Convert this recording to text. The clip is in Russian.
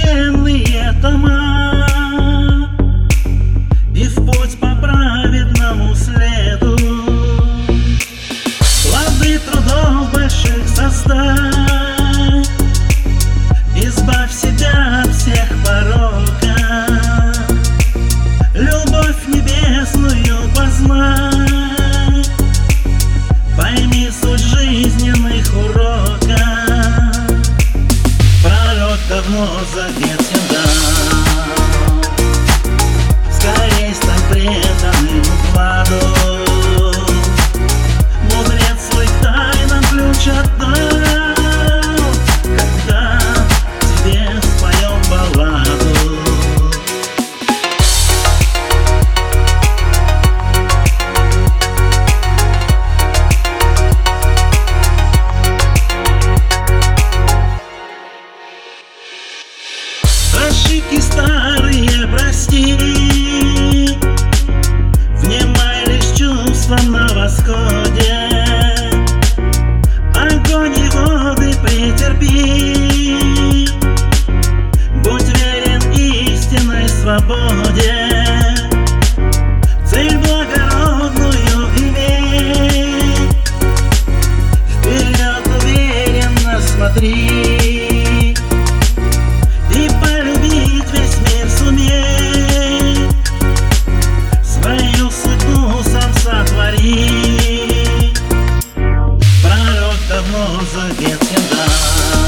священные тома и в путь по праведному следу. Плоды трудов больших создай, избавь себя от всех порока, любовь небесную познай, пойми суть жизненных уроков. Пророк давно заветен дал, скорей стань преданным укладу. Мудрец свой тайнам ключ отдал, когда тебе споем балладу. Ошибки старые прости, внимай лишь чувствам на восходе, огонь и воды претерпи, будь верен истинной свободе, цель благородную имей, вперед уверенно смотри. Пророк давно заветен дал,